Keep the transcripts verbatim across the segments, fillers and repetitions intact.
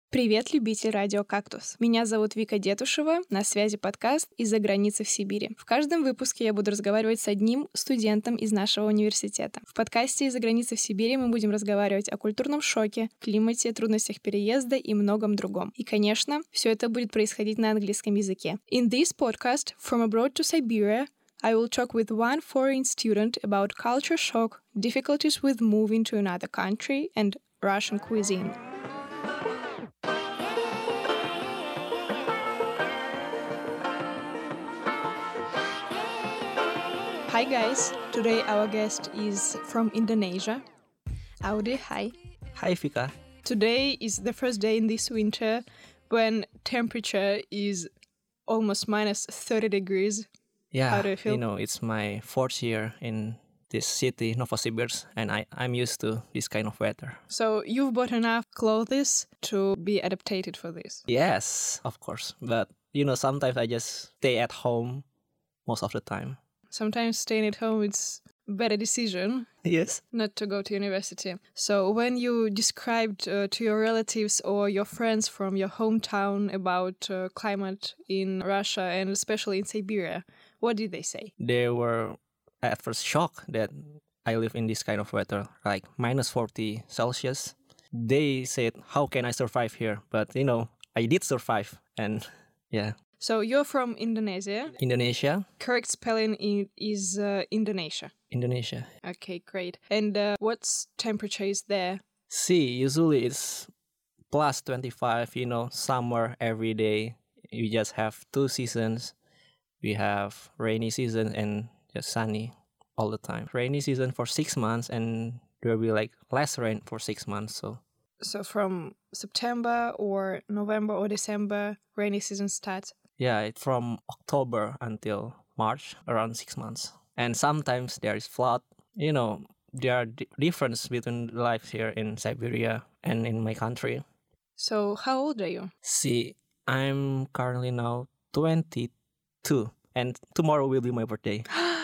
Привет, любитель радио «Кактус». Меня зовут Вика Детушева, на связи подкаст «Из-за границы в Сибири». В каждом выпуске я буду разговаривать с одним студентом из нашего университета. В подкасте «Из-за границы в Сибири» мы будем разговаривать о культурном шоке, климате, трудностях переезда и многом другом. И, конечно, все это будет происходить на английском языке. In this podcast, From Abroad to Siberia, I will talk with one foreign student about culture shock, difficulties with moving to another country, and Russian cuisine. Hi guys, today our guest is from Indonesia. Audi, hi. Hi, Vika. Today is the first day in this winter when temperature is almost minus thirty degrees. Yeah, How do you feel? you know, it's my fourth year in this city, Novosibirsk, and I, I'm used to this kind of weather. So you've bought enough clothes to be adapted for this? Yes, of course. But, you know, sometimes I just stay at home most of the time. Sometimes staying at home is a better decision. Yes. Not to go to university. So when you described uh, to your relatives or your friends from your hometown about uh, climate in Russia and especially in Siberia, what did they say? They were at first shocked that I live in this kind of weather, like minus forty Celsius. They said, how can I survive here? But, you know, I did survive. And yeah. So you're from Indonesia. Indonesia. Correct spelling i- is uh, Indonesia. Indonesia. Okay, great. And uh, what's temperature is there? See, usually it's plus twenty-five, you know, summer every day. We just have two seasons. We have rainy season and just sunny all the time. Rainy season for six months and there will be like less rain for six months. So So from September or November or December, rainy season starts. yeah, it's from October until March, around six months. And sometimes there is flood. You know, there are di- difference between life here in Siberia and in my country. So how old are you? See, I'm currently now twenty-two, and tomorrow will be my birthday.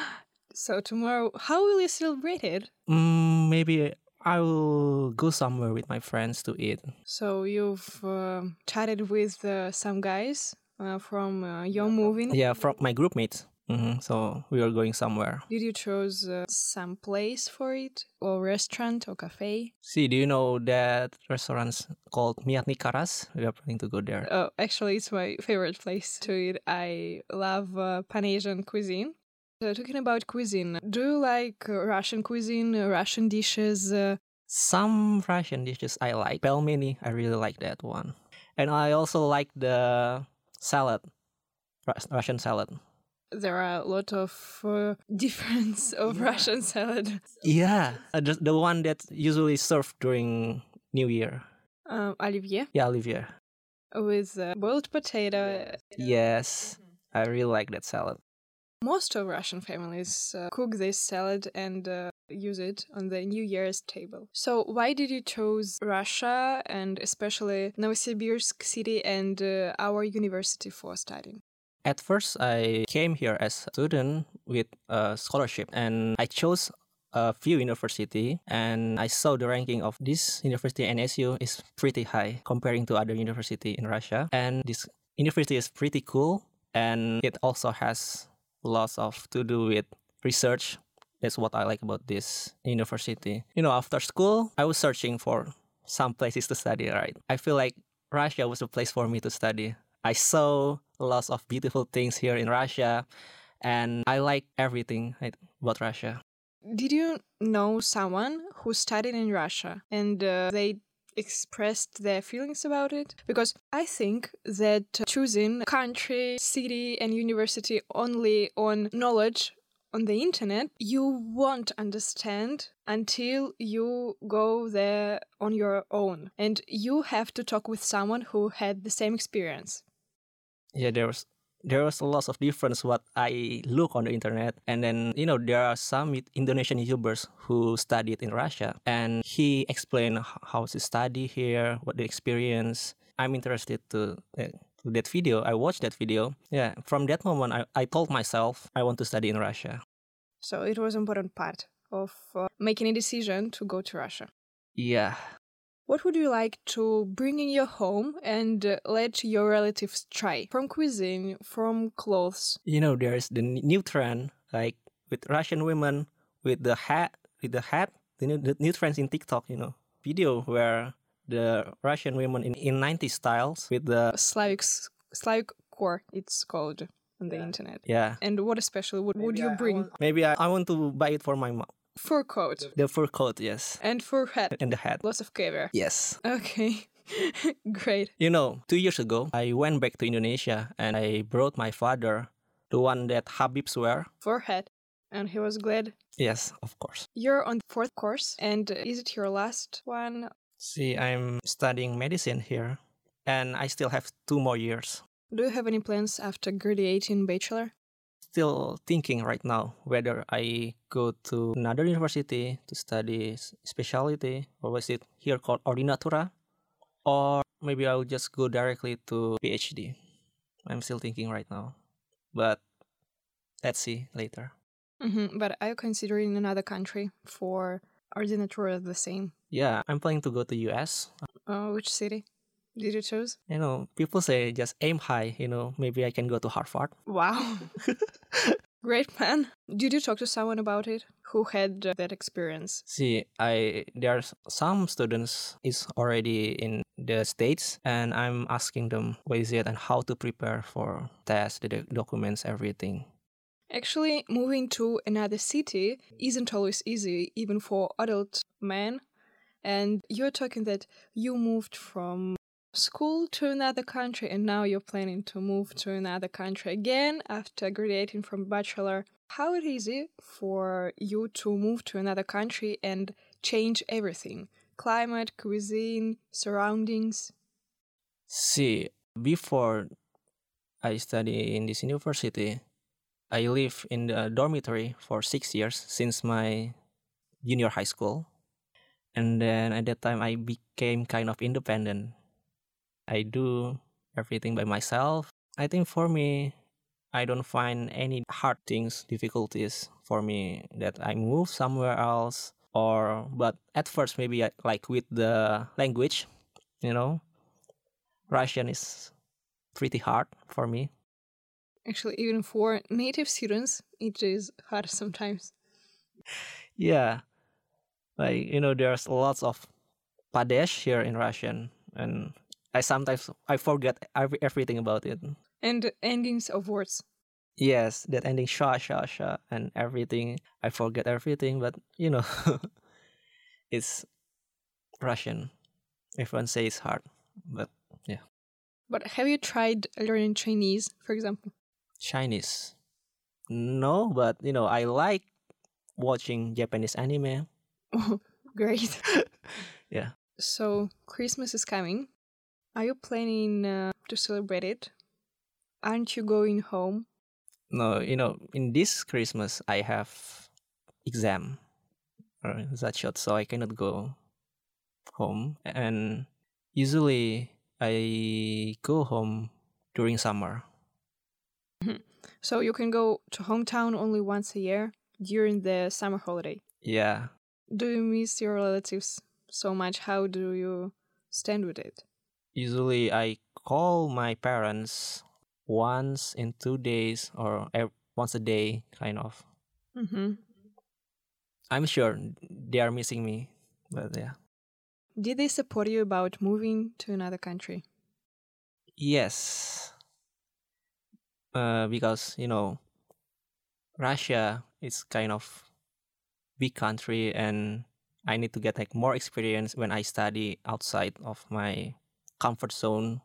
So tomorrow, how will you celebrate it? Mm, maybe I will go somewhere with my friends to eat. So you've uh, chatted with uh, some guys uh, from uh, your movie. Yeah, from my group mates. hmm So we are going somewhere. Did you choose uh, some place for it, or restaurant, or cafe? See, do you know that restaurant called Miatni Karas? We are planning to go there. Oh, actually, it's my favorite place to eat. I love uh, Pan-Asian cuisine. So talking about cuisine, do you like uh, Russian cuisine, uh, Russian dishes? Uh, Some Russian dishes I like. Pelmeni, I really like that one. And I also like the salad, Rus- Russian salad. there are a lot of uh, difference of Russian salad. Yeah, uh, the, the one that usually served during New Year. Um, Olivier Yeah, Olivier. with uh, boiled potato. Yes, I really like that salad. Most of Russian families uh, cook this salad and uh, use it on the New Year's table. So why did you choose Russia and especially Novosibirsk city and uh, our university for studying? At first, I came here as a student with a scholarship, and I chose a few university, and I saw the ranking of this university N S U is pretty high comparing to other university in Russia. And this university is pretty cool, and it also has lots of to do with research. That's what I like about this university. You know, after school, I was searching for some places to study, right? I feel like Russia was a place for me to study. I saw lots of beautiful things here in Russia, and I like everything right, about Russia. Did you know someone who studied in Russia and uh, they expressed their feelings about it? Because I think that choosing country, city, and university only on knowledge on the internet, you won't understand until you go there on your own. And you have to talk with someone who had the same experience. Yeah, there was there was a lot of difference what I look on the internet, and then you know there are some it- Indonesian YouTubers who studied in Russia, and he explained h- how to study here, what the experience. I'm interested to. Uh, to that video, I watched that video. Yeah, from that moment, I, I told myself I want to study in Russia. So it was an important part of uh, making a decision to go to Russia. Yeah, What would you like to bring in your home and uh, let your relatives try? From cuisine, from clothes. You know, there's the n- new trend, like with Russian women with the hat, with the hat, the new, the new trends in TikTok, you know, video where the Russian women in, in nineties styles with the, Slavic, Slavic core, it's called on the internet. yeah. And what especially would, would you bring? Maybe I, I want to buy it for my mom. Fur coat The fur coat, yes. and fur hat. And the hat. Lots of caviar. Yes. Okay, great. You know, two years ago, I went back to Indonesia and I brought my father the one that Habibs wear. Fur hat. And he was glad. Yes, of course. You're on the fourth course, and is it your last one? See, I'm studying medicine here, and I still have two more years. Do you have any plans after graduating bachelor? Still thinking right now whether I go to another university to study s- specialty, or was it here called ordinatura, or maybe I'll just go directly to PhD. I'm still thinking right now, but let's see later. Mm-hmm. But are you considering another country for ordinatura the same? Yeah, I'm planning to go to U S. Uh, which city did you choose? You know, people say just aim high, you know, maybe I can go to Harvard. Wow. Great plan. Did you talk to someone about it who had uh, that experience? See, I there's some students is already in the States, and I'm asking them what is it and how to prepare for tests, the doc- documents, everything. Actually, moving to another city isn't always easy, even for adult men. And you're talking that you moved from school to another country, and now you're planning to move to another country again after graduating from bachelor. How it easy for you to move to another country and change everything? Climate, cuisine, surroundings. See, before I study in this university, I live in the dormitory for six years since my junior high school. And then at that time, I became kind of independent. I do everything by myself. I think for me, I don't find any hard things, difficulties for me that I move somewhere else. Or, but at first, maybe I, like with the language, you know, Russian is pretty hard for me. Actually, even for native students, it is hard sometimes. Yeah, like, you know, there's lots of Padesh here in Russian, and I sometimes I forget every, everything about it. And endings of words. Yes, that ending sha sha sha and everything. I forget everything, but you know, it's Russian. Everyone says it's hard, but yeah, But have you tried learning Chinese, for example? Chinese. No, but you know, I like watching Japanese anime. Oh, great. Yeah. So, Christmas is coming. Are you planning uh, to celebrate it? Aren't you going home? No, you know, in this Christmas I have exam or that shot, so I cannot go home. And usually I go home during summer. Mhm. So, you can go to hometown only once a year during the summer holiday. Yeah. Do you miss your relatives so much? How do you stand with it? Usually I call my parents once in two days or ev- once a day, kind of. Mm-hmm. I'm sure they are missing me, but yeah. Did they support you about moving to another country? Yes. Uh, because, you know, Russia is kind of big country, and I need to get like more experience when I study outside of my comfort zone.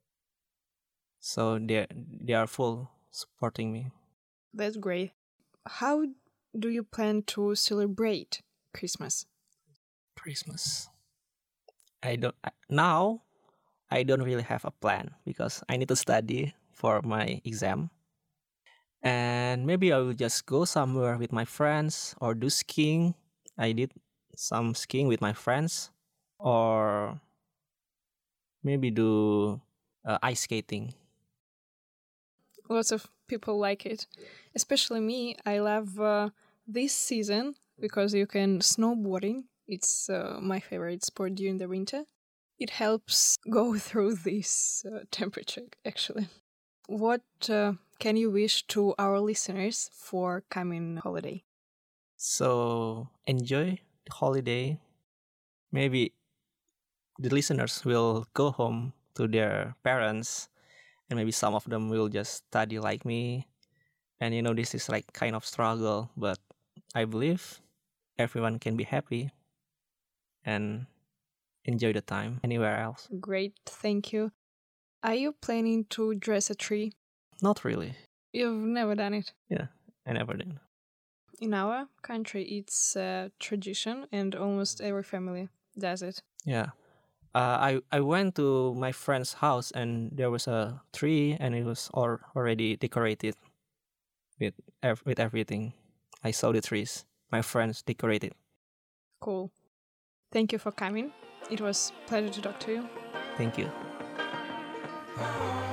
So they they are full supporting me. That's great. How do you plan to celebrate Christmas? Christmas. I don't I, now. I don't really have a plan because I need to study for my exam. And maybe I will just go somewhere with my friends or do skiing. I did some skiing with my friends, or maybe do uh, ice skating. Lots of people like it, especially me. I love uh, this season because you can snowboarding. It's uh, my favorite sport during the winter. It helps go through this uh, temperature, actually. What uh, can you wish to our listeners for coming holiday? So enjoy the holiday. Maybe the listeners will go home to their parents, and maybe some of them will just study like me. And you know, this is like kind of struggle, but I believe everyone can be happy and enjoy the time anywhere else. Great, thank you. Are you planning to dress a tree? Not really. You've never done it. Yeah, I never did. In our country, it's a tradition, and almost every family does it. Yeah. Uh, I, I went to my friend's house and there was a tree and it was all already decorated with ev- with everything. I saw the trees. My friends decorated. Cool. Thank you for coming. It was a pleasure to talk to you. Thank you.